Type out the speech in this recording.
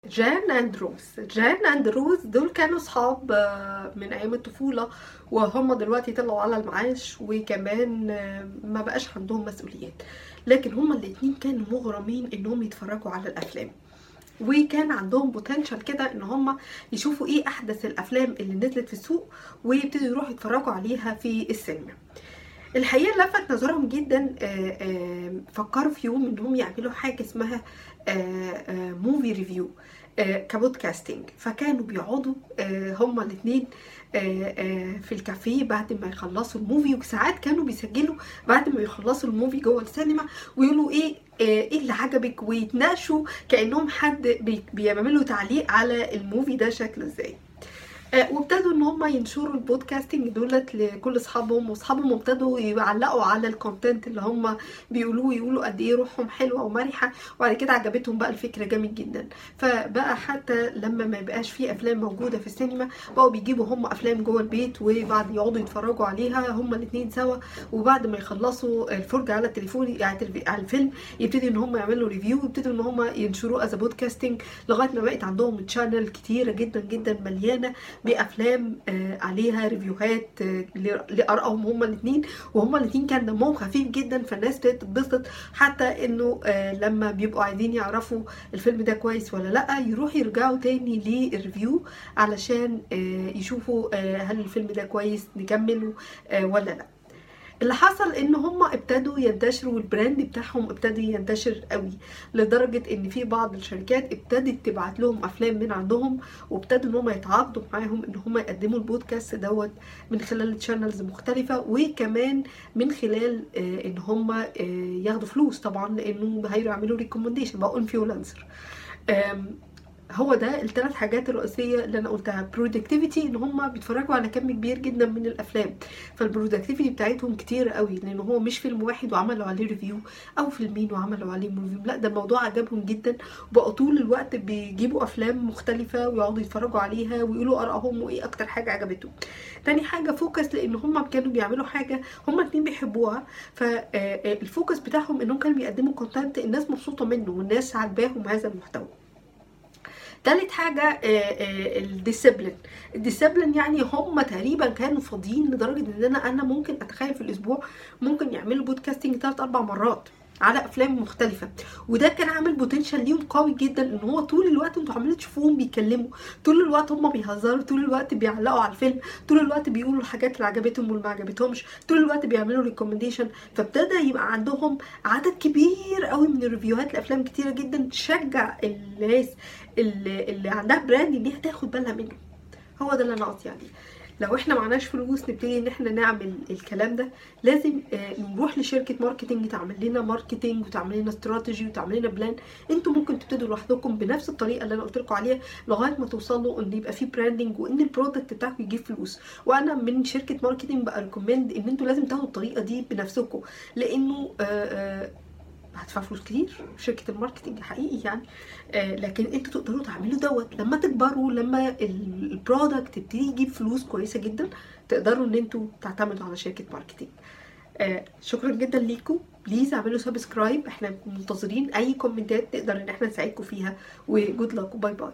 جان اند روز دول كانوا صحاب من ايام الطفولة، وهم دلوقتي طلعوا على المعاش، وكمان ما بقاش عندهم مسؤوليات. لكن هما الاتنين كانوا مغرمين انهم يتفرجوا على الافلام، وكان عندهم بوتنشال كده ان هم يشوفوا ايه احدث الافلام اللي نزلت في السوق ويبتدوا يروحوا يتفرجوا عليها في السينما. الحقيقه لفت نظرهم جدا. فكروا في يوم انهم يعملوا حاجه اسمها موفي ريفيو كبودكاستنج. فكانوا بيقعدوا هما الاثنين في الكافيه بعد ما يخلصوا الموفي، وساعات كانوا بيسجلوا بعد ما يخلصوا الموفي جوه السينما ويقولوا ايه اللي عجبك، ويتناقشوا كأنهم حد بيعملوا تعليق على الموفي ده شكله ازاي. وابتدوا ان هم ينشروا البودكاستنج دولت لكل اصحابهم، واصحابهم ابتدوا يعلقوا على الكونتنت اللي هم بيقولوه، يقولوا قد ايه روحهم حلوه ومرحه. وبعد كده عجبتهم بقى الفكره جامد جدا، فبقى حتى لما ما يبقاش في افلام موجوده في السينما بقوا بيجيبوا هم افلام جوه البيت، وبعد يقعدوا يتفرجوا عليها هم الاثنين سوا. وبعد ما يخلصوا الفرجه على التليفون على الفيلم يبتدوا ان هم يعملوا ريفيو، ويبتدوا ان هم ينشروه از بودكاستنج، لغايه ما بقت عندهم تشانل كتيره جدا جدا مليانه بافلام عليها ريفيوهات لارائهم هما الاثنين. وهما الاثنين كان دمهم خفيف جدا، فالناس تتبسط حتى انه لما بيبقوا عايزين يعرفوا الفيلم ده كويس ولا لا يروحوا يرجعوا تاني للريفيو علشان يشوفوا هل الفيلم ده كويس نكمله ولا لا. اللي حصل ان هم ابتدوا ينتشروا، والبراند بتاعهم ابتدى ينتشر قوي، لدرجة ان في بعض الشركات ابتدت تبعت لهم افلام من عندهم، وابتدوا ان هم يتعاقدوا معاهم ان هم يقدموا البودكاست دوت من خلال تشانلز مختلفة، وكمان من خلال ان هم ياخدوا فلوس طبعا، لانه هيعملوا ريكومنديشن بقوا انفلونسر. هو ده الثلاث حاجات الرئيسيه اللي انا قلتها. برودكتيفيتي، ان هم بيتفرجوا على كم كبير جدا من الافلام، فالبرودكتيفيتي بتاعتهم كتير قوي، لان هو مش فيلم واحد وعملوا عليه ريفيو او فيلمين وعملوا عليه ريفيو، لا ده الموضوع عجبهم جدا، وبقوا طول الوقت بيجيبوا افلام مختلفه ويقعدوا يتفرجوا عليها ويقولوا ارائهم وايه اكتر حاجه عجبتهم. تاني حاجه فوكس، لان هم كانوا بيعملوا حاجه هم الاثنين بيحبوها، فالفوكس بتاعهم انهم كانوا بيقدموا كونتنت الناس مبسوطه منه والناس عاجباهم هذا المحتوى. تالت حاجة الديسيبلين، يعني هم تقريبا كانوا فاضيين لدرجة ان انا ممكن اتخيل في الاسبوع ممكن يعملوا بودكاستنج 3-4 مرات على افلام مختلفه، وده كان عامل بوتنشال ليهم قوي جدا، ان هو طول الوقت انتوا عمالين تشوفوهم بيتكلموا، طول الوقت هم بيهزروا، طول الوقت بيعلقوا على الفيلم، طول الوقت بيقولوا الحاجات اللي عجبتهم واللي ما عجبتهمش، طول الوقت بيعملوا ريكومنديشن. فابتدى يبقى عندهم عدد كبير قوي من الريفيوهات لافلام كتيره جدا تشجع الناس اللي عندها براند ان هي تاخد بالها منه. هو ده اللي انا قصدي عليه. لو احنا معناش فلوس نبتدي ان احنا نعمل الكلام ده، لازم نروح لشركه ماركتنج تعمل لنا ماركتنج وتعمل لنا استراتيجي وتعمل لنا بلان. انتوا ممكن تبتدوا لوحدكم بنفس الطريقه اللي انا قلت لكم عليها لغايه ما توصلوا ان يبقى في براندنج وان البرودكت بتاعكم يجيب فلوس. وانا من شركه ماركتنج بقى ريكومند ان انتوا لازم تاخدوا الطريقه دي بنفسكم، لانه هتدفع فلوس كتير شركه الماركتنج حقيقي يعني. لكن انتوا تقدروا تعملوا دوت لما تكبروا، لما البرودكت يبتدي يجيب فلوس كويسه جدا، تقدروا ان انتوا تعتمدوا على شركه ماركتنج. شكرا جدا ليكم، بليز اعملوا سبسكرايب، احنا منتظرين اي كومنتات نقدر ان احنا نساعدكم فيها، وجود لك وباي باي.